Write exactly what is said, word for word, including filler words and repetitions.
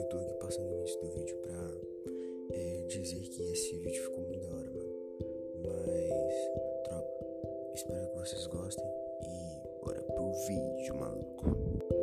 tô aqui passando o início do vídeo pra é, dizer que esse vídeo ficou muito da hora, mano. Mas, tropa, espero que vocês gostem e bora pro vídeo, maluco.